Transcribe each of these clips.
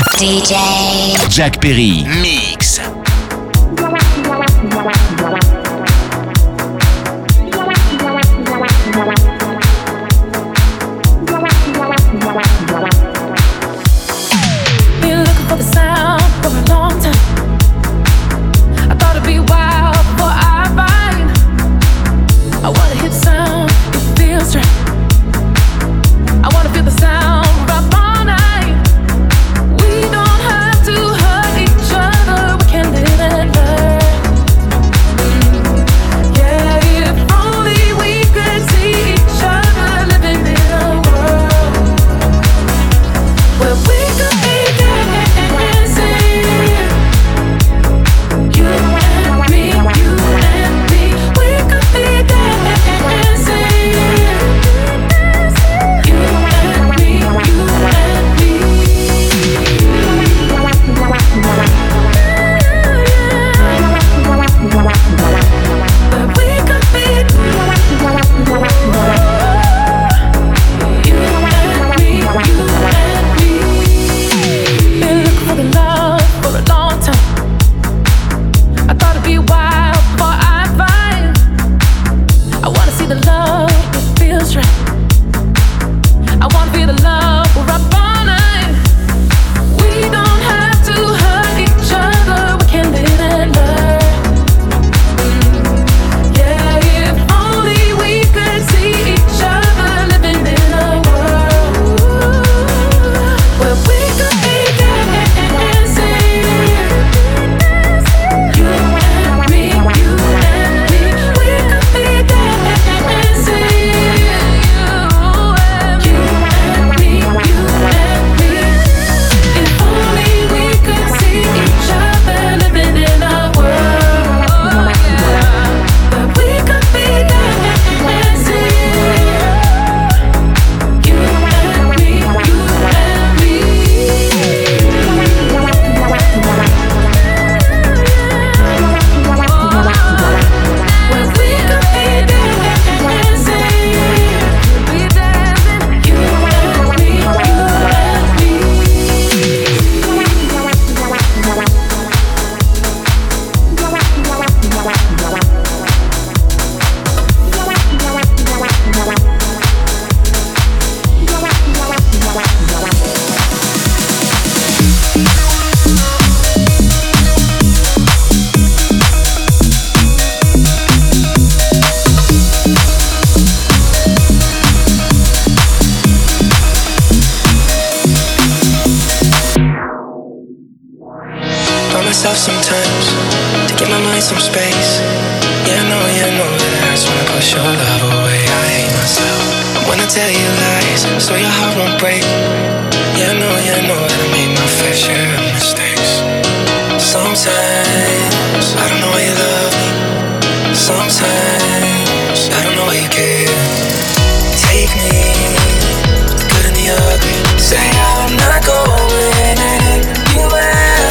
DJ Jack Perry Mix. Been looking for the sound for a long time. I thought it'd be a while before I find. I wanna hear the sound, it feels right. I wanna feel the sound right all night. We don't have to hurt each other, we can live and learn. Yeah, if only we could see each other living in a world where we could be dancing. You and me, we could be dancing. You and me, but we could be you and me. Been looking for the love for a long time. I thought it'd be a while before I find. I wanna see the love that feels right. I wanna feel the love we're up all night. We don't have to hurt each other, we can live and learn. Yeah, if only we could see each other living in a world where we could be dancing. You and me, we could be dancing. You and me, if only we could see each other living in a world where we could be dancing. You and me, where we could be dancing. Be dancing. You and me, By myself sometimes to give my mind some space. Yeah, I know that it hurts when I push your love away. I hate myself. I wanna tell you lies so your heart won't break. Yeah, I know that I made my fair share of mistakes. Sometimes I don't know why you love me. Sometimes I don't know why you care. Take me, the good and the ugly. Say I'm not going anywhere.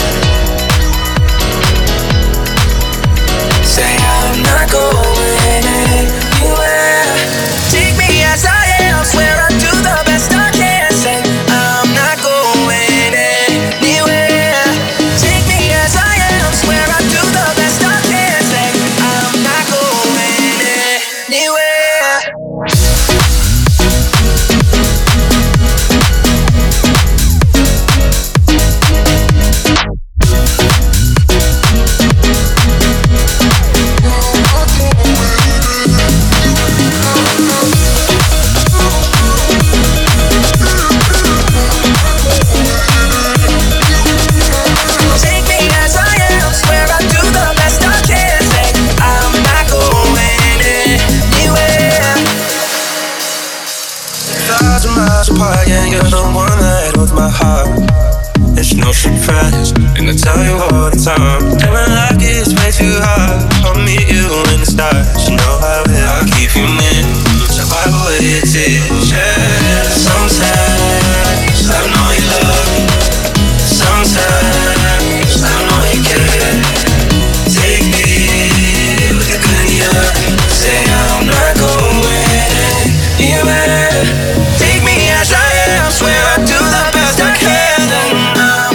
Say I'm not going anywhere. Take me as I am, swear I'll do the best I can. Say I'm not going anywhere. Take me as I am, swear I'll do the best I can. Say I'm not going anywhere. Take me as I am, swear I'll do the best I can. Say I'm not going anywhere. 1,000 miles apart, yeah, you're the one that holds my heart. It's no surprise, and I tell you all the time. And when life gets way too hard, I'll meet you in the stars. You know I will, I'll keep you near. So wipe away your tears, yeah. Sometimes I don't know you love me. Sometimes I don't know you care. Take me with the good and the ugly. Say I'm not going anywhere. Take me as I am, swear I'll do the best I can.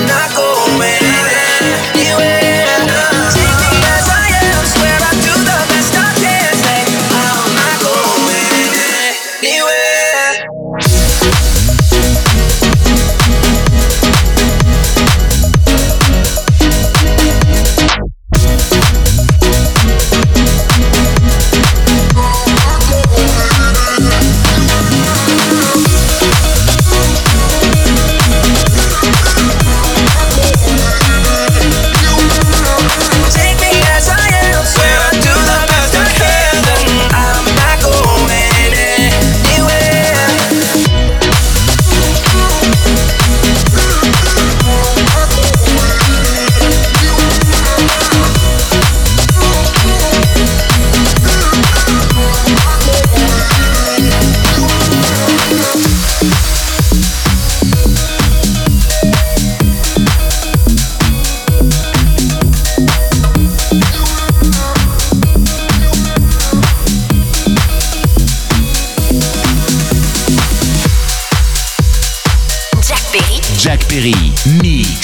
Jack Perry, Mix.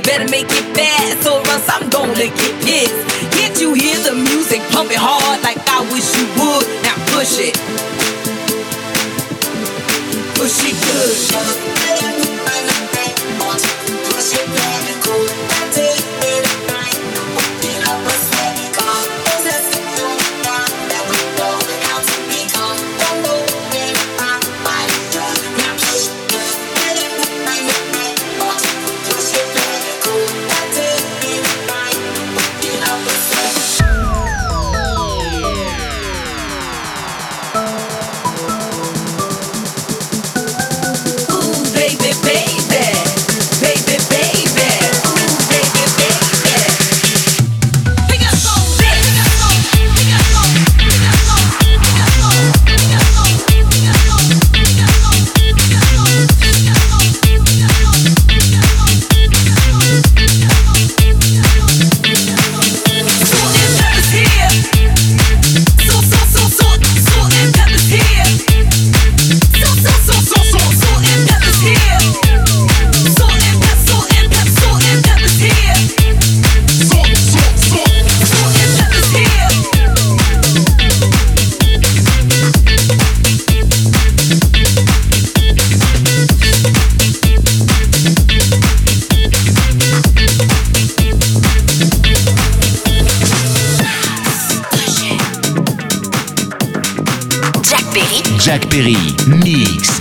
better make it fast, or else I'm gonna get pissed. Can't you hear the music pumping hard like I wish you would? Now push it. Push it good. Jack Perry, Mix.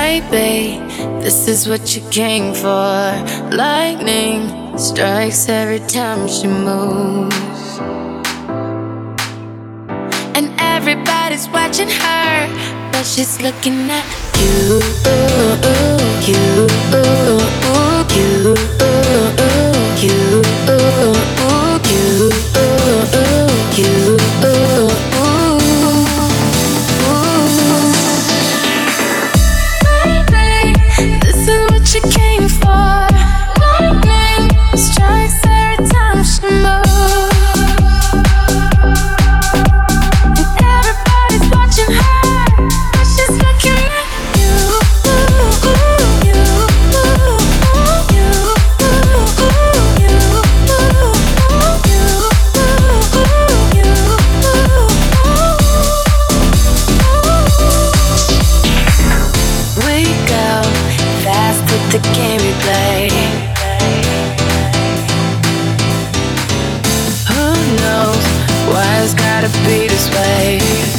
Baby, this is what you came for. Lightning strikes every time she moves, and everybody's watching her, but she's looking at you, you, you, you, you. She came for. Lightning strikes every time she moves, and everybody's watching her, but she's looking at you, you, we go fast with the game we play. Who knows why it's gotta be this way?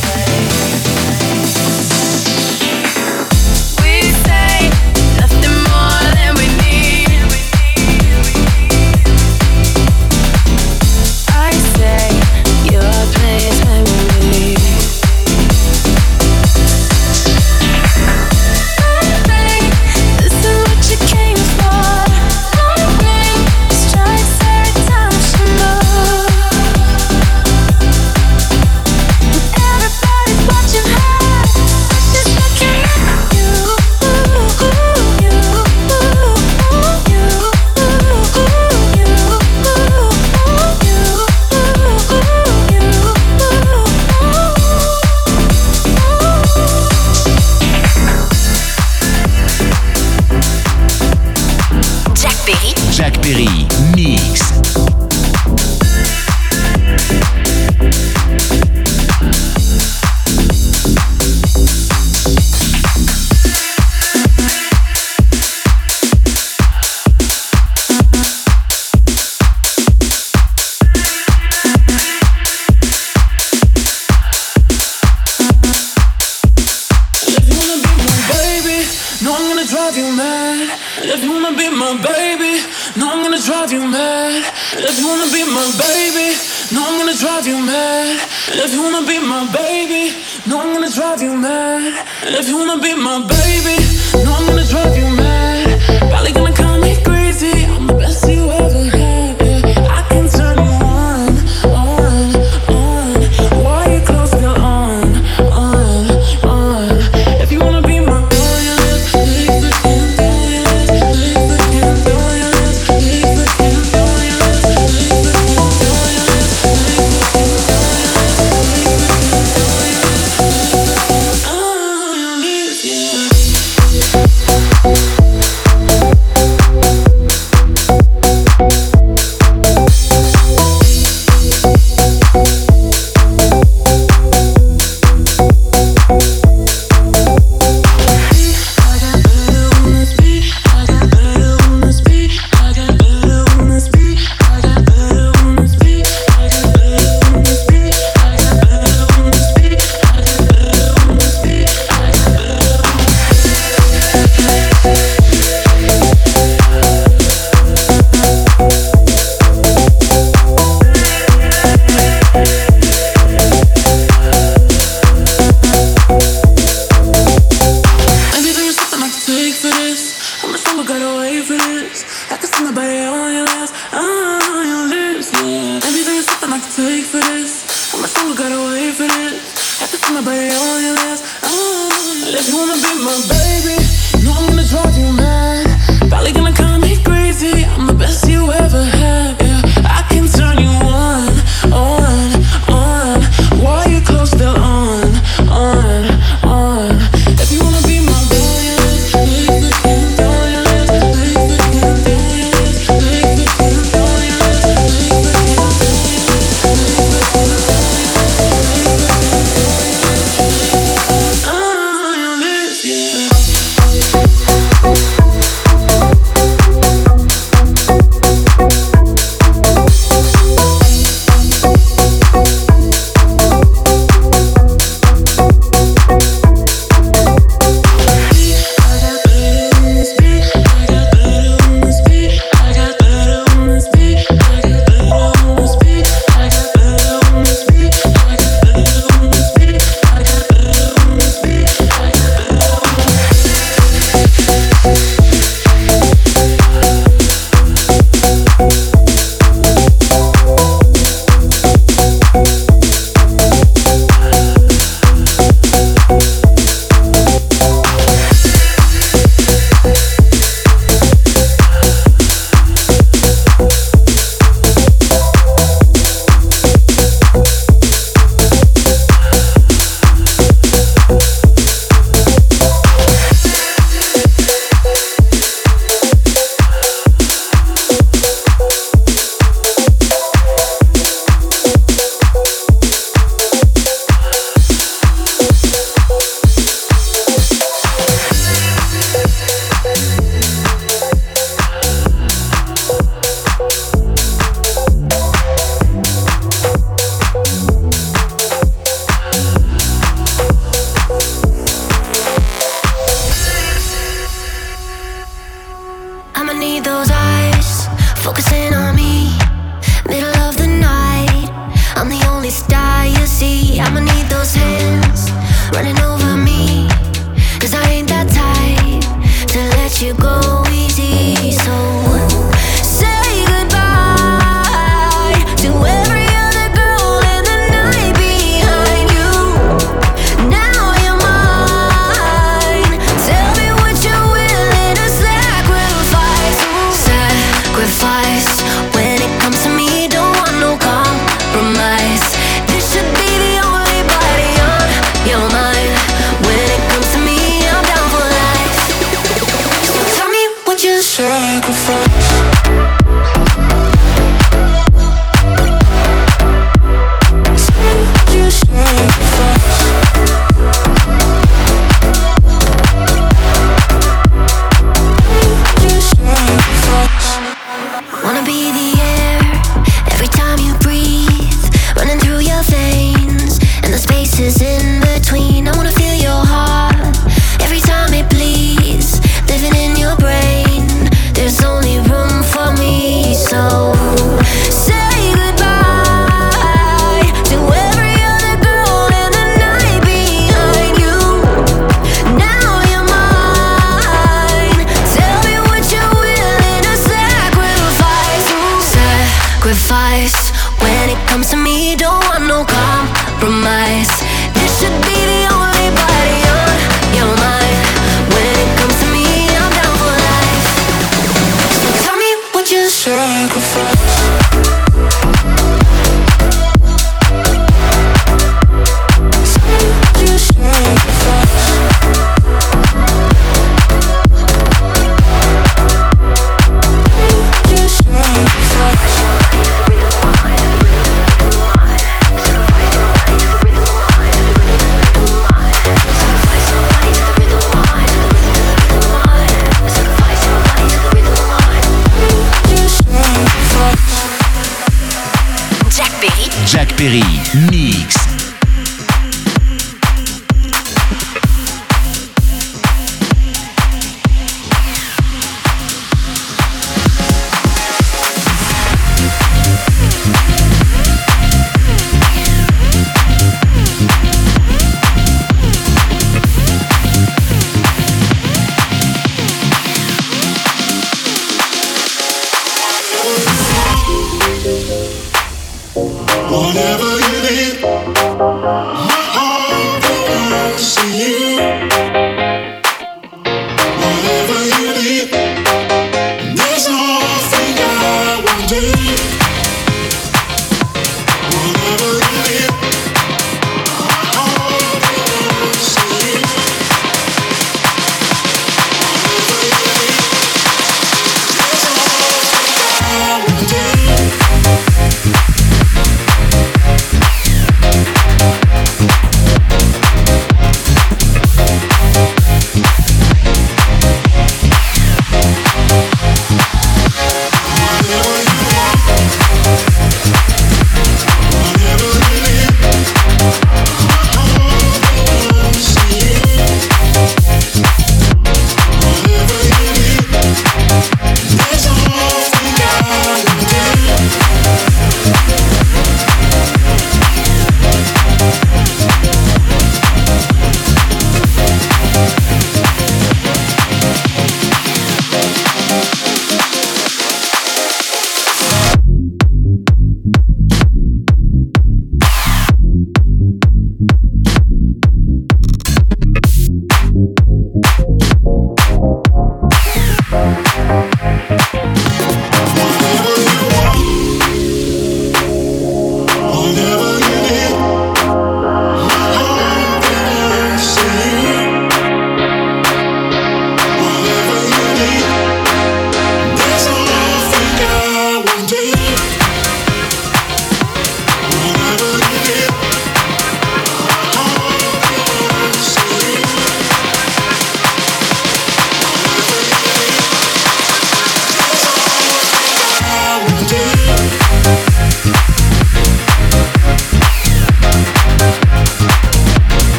We say nothing more than we need. I say your place when we leave. Jack Perry, Mix. Drive you mad. If you wanna be my baby, no, I'm gonna drive you mad. If you wanna be my baby, no, I'm gonna drive you mad. If you wanna be my baby, no, I'm gonna drive you mad. If you wanna be my baby, no, I'm gonna drive you mad. Probably gonna call me crazy. I'm the best you ever had. Yeah. I can turn you on. Why you close still on. If you wanna be my Yeah. Perry, mix. Whatever you need, my heart will see you. Whatever you need, there's nothing I won't do. Whatever you need, my heart will see you. Whatever you need, there's nothing I won't do.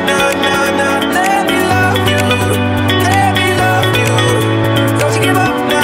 Don't you give up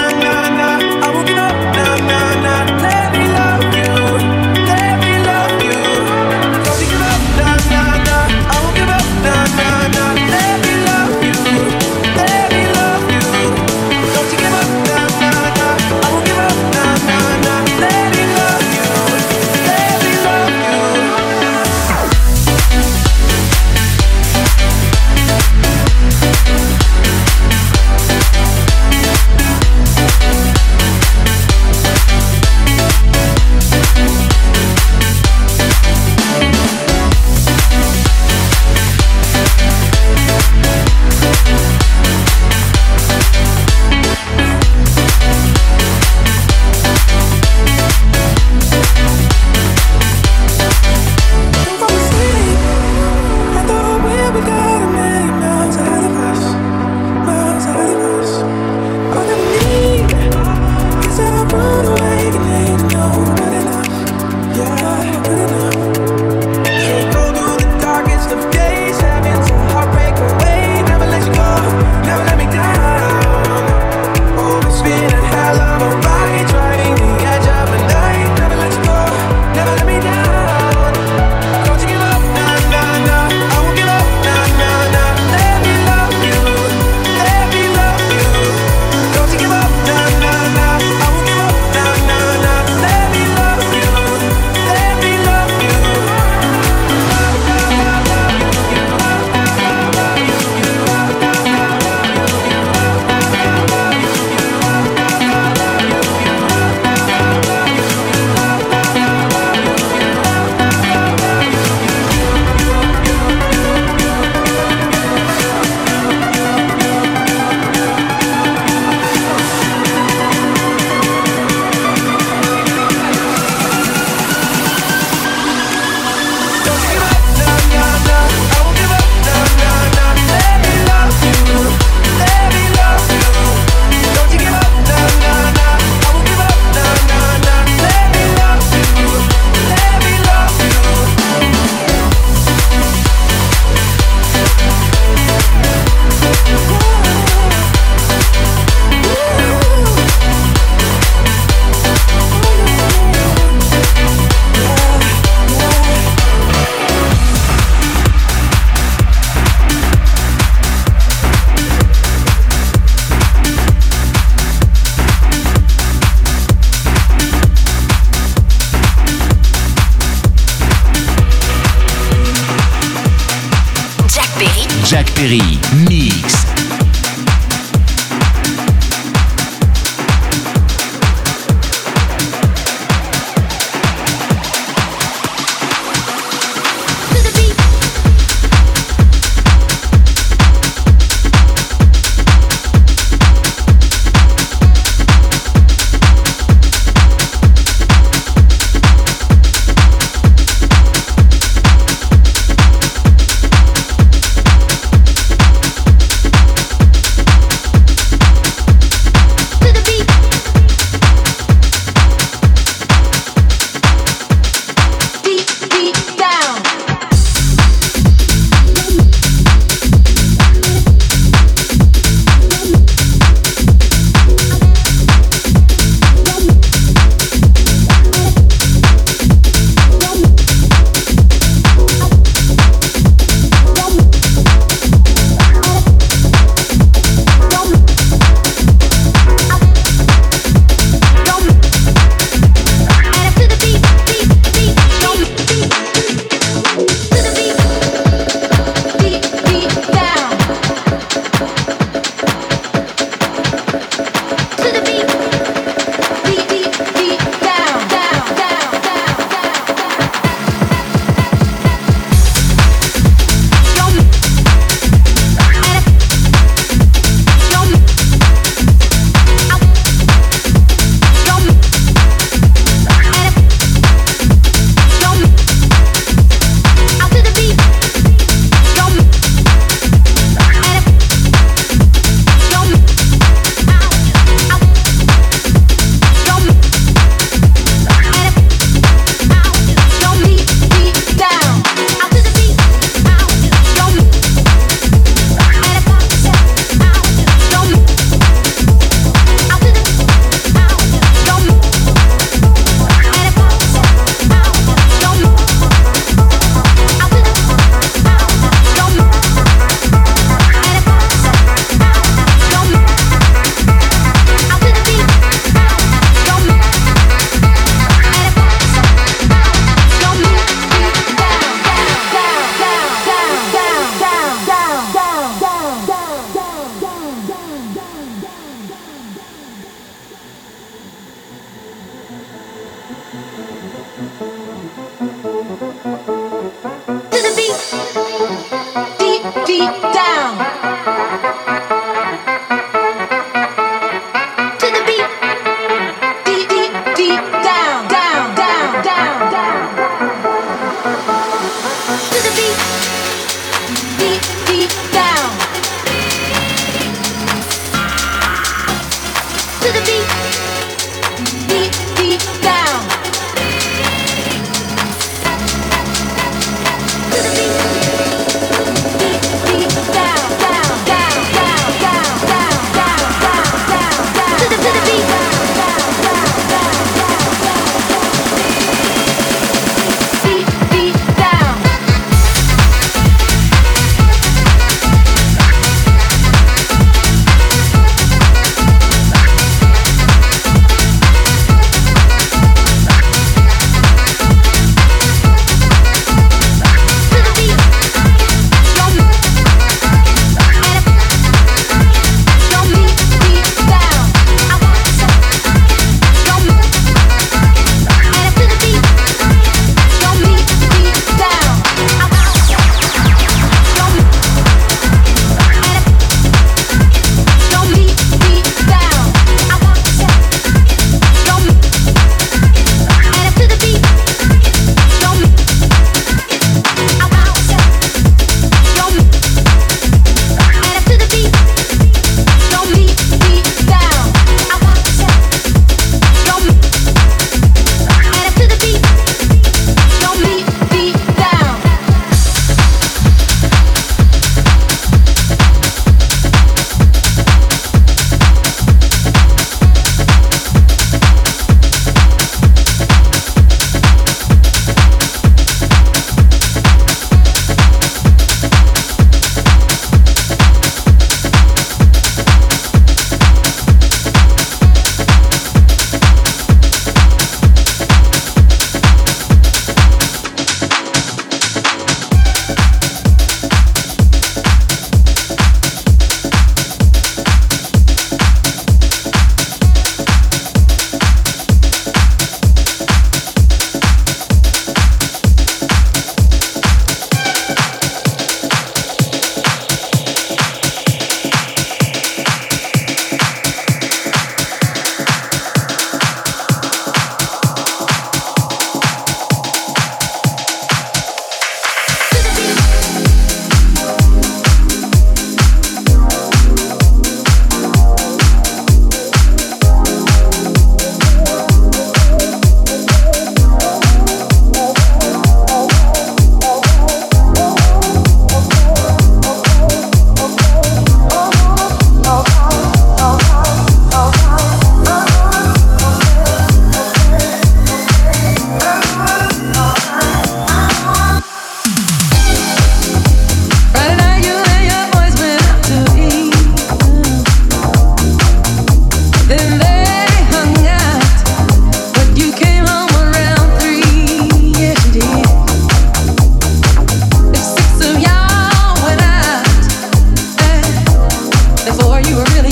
Perry, mix.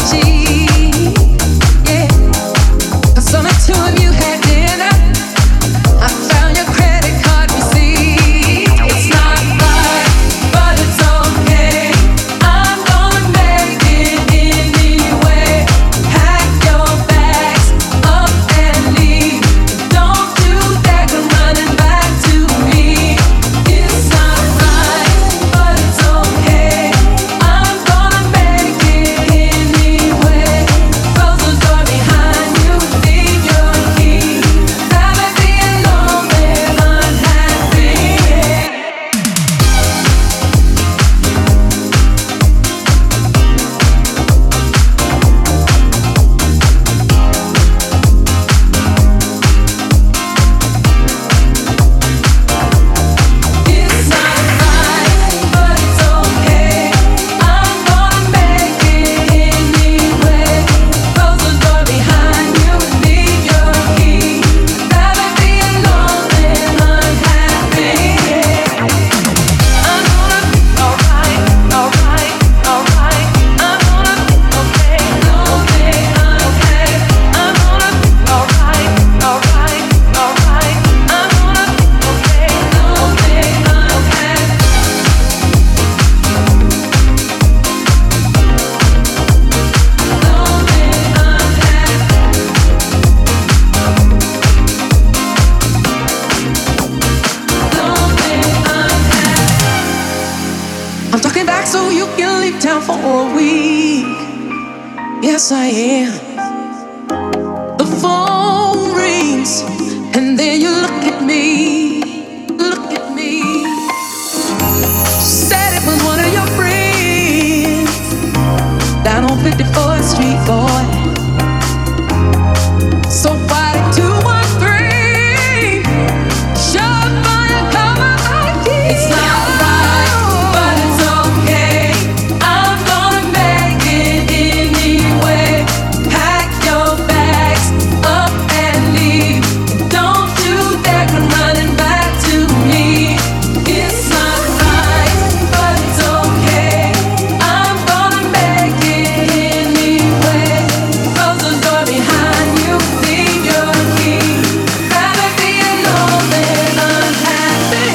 Yes, I am. The phone rings, and then you look at me, look at me. Said it was one of your friends down on 54th Street, boy. So why 213? Sure fire coming back here. It's not right, but it's okay. I'm gonna make it anyway. Pack your bags up and leave. Don't you dare come running back to me. It's not right, but it's okay. I'm gonna make it anyway. Close the door behind you, leave your key. Rather be alone than unhappy.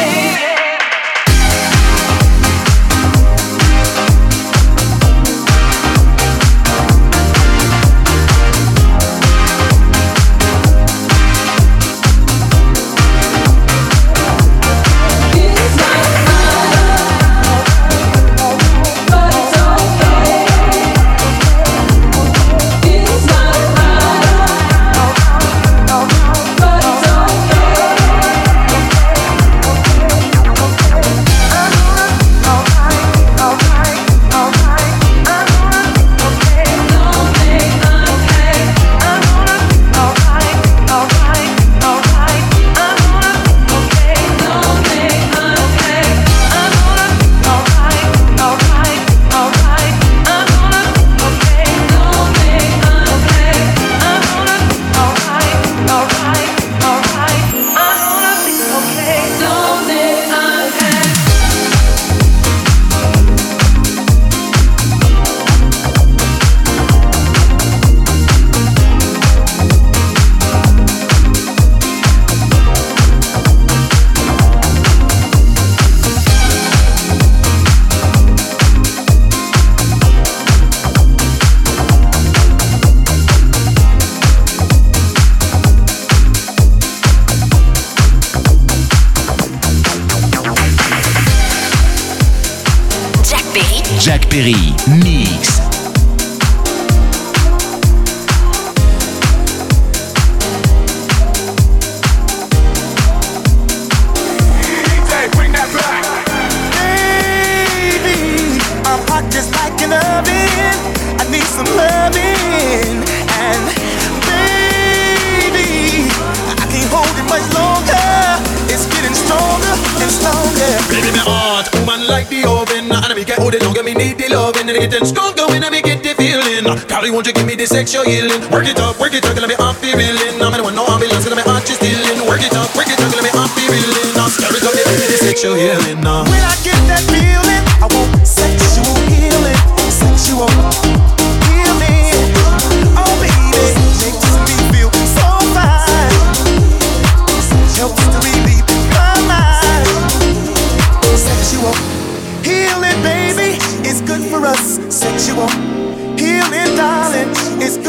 It's not right, but it's okay. It's not right, but it's Jack Perry, Mix. Bring that back. Baby, I'm hot just like an oven. I need some loving. And baby, I can't hold it much longer. It's getting stronger and stronger. Baby, my heart, woman like the oven. And I get hold it longer, me need the loving. And it getting stronger when I get the feeling. Carly, won't you give me the sexual healing? Work it up, let me off the reeling. I'm the one, no ambulance, let me heart just stealing. Work it up, let me off the reeling. Stir it up, give me the sexual healing. When I get that feeling, I want sexual healing. Sexual healing.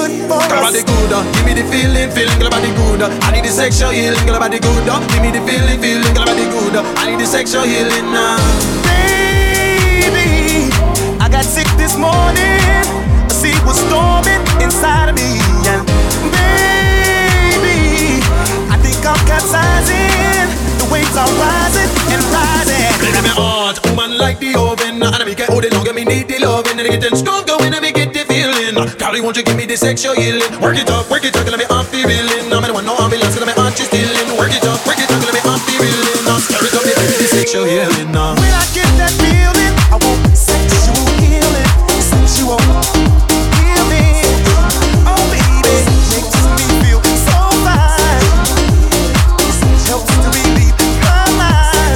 good for us. Girl, body good, give me the feeling, girl, body good. I need the sexual healing, girl, body good. Give me the feeling, girl, body good. I need the sexual healing now. Baby, I got sick this morning. A sea was storming inside of me, and baby, I think I'm capsizing. The waves are rising and rising. Let me heart, woman like the oven. And me get hold it long, and me need the loving. And getting stronger when I me get the feeling. Golly, won't you give me the sexual healing? Work it up, let me off the reeling. I'm the one no ambulance, let me heart you stealing. Work it up, let me off the reeling. Now stir it up, me give me the sexual healing now. When I get that feeling, I want sexual healing, sexual healing. Oh baby, makes me feel so fine. Helps to relieve my mind.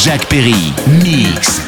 Jack Perry, Mix.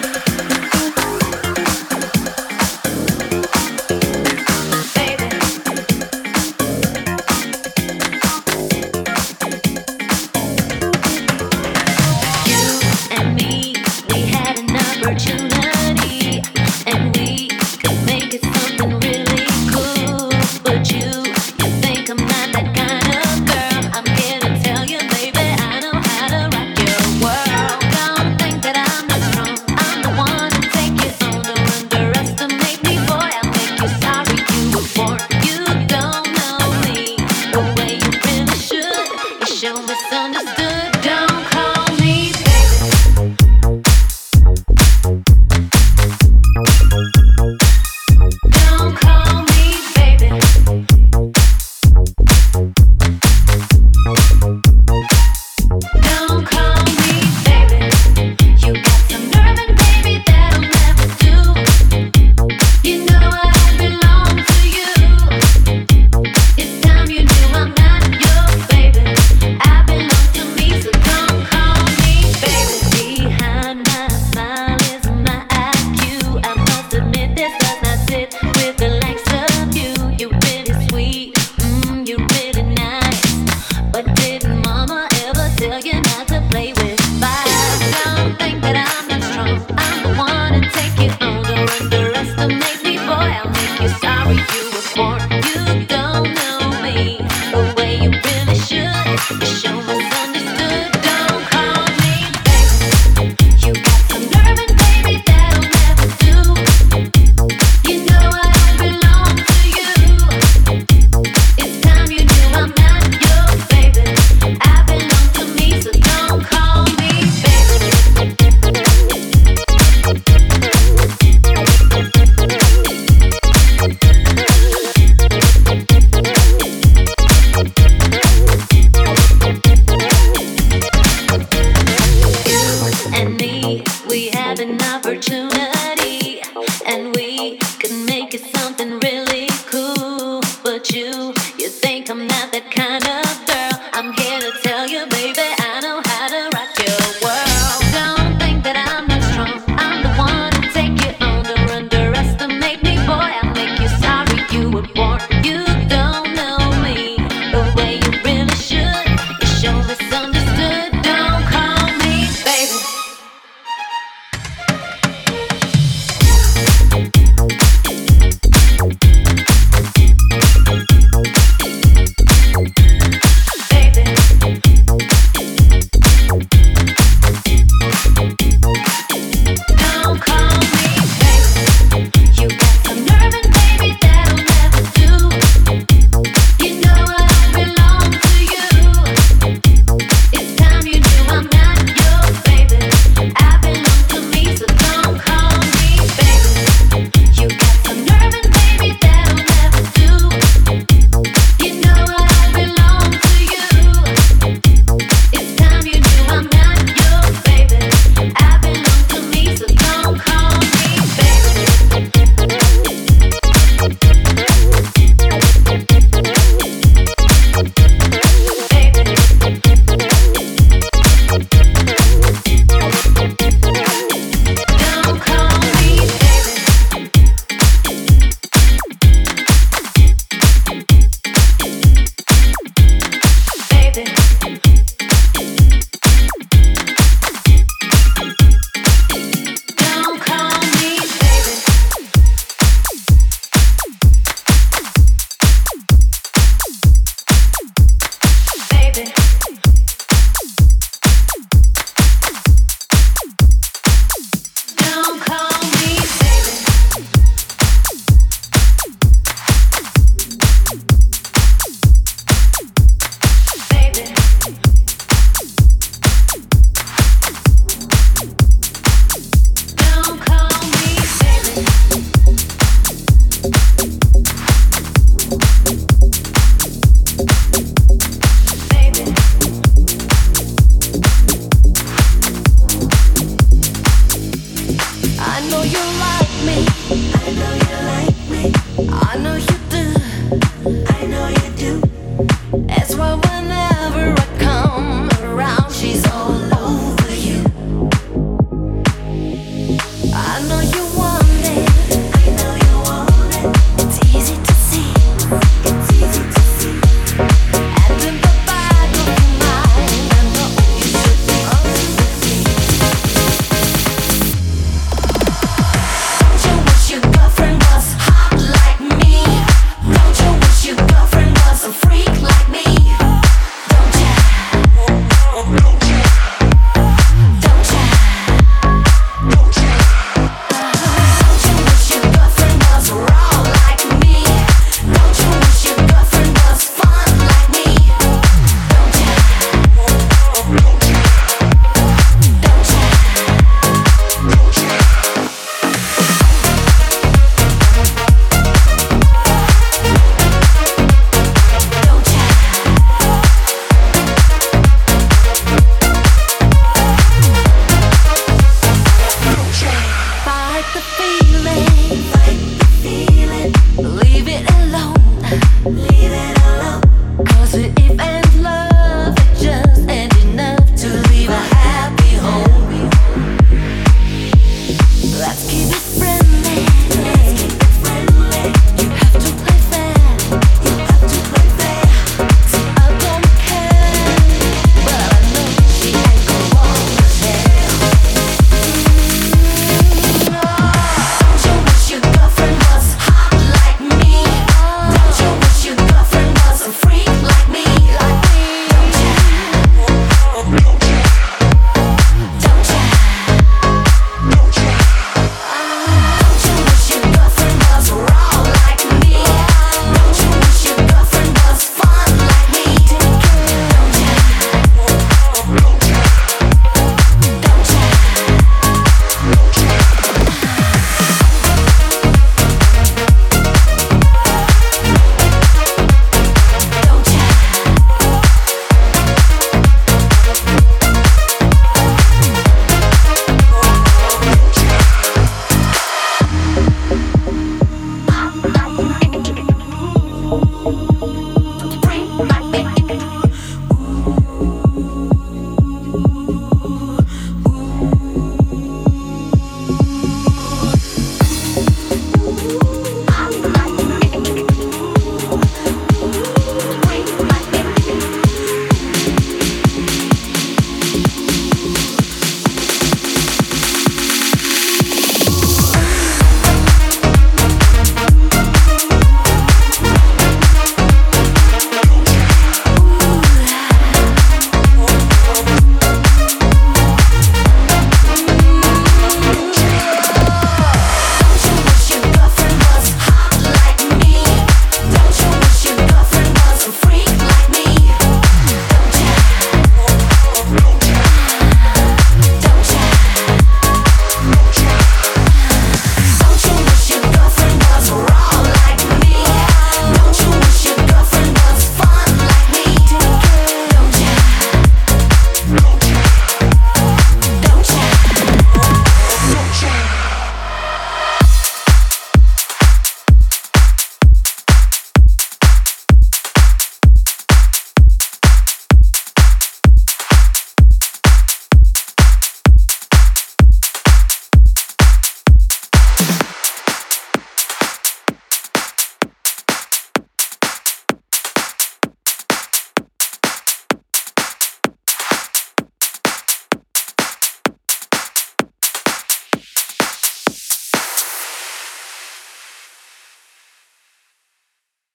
Leave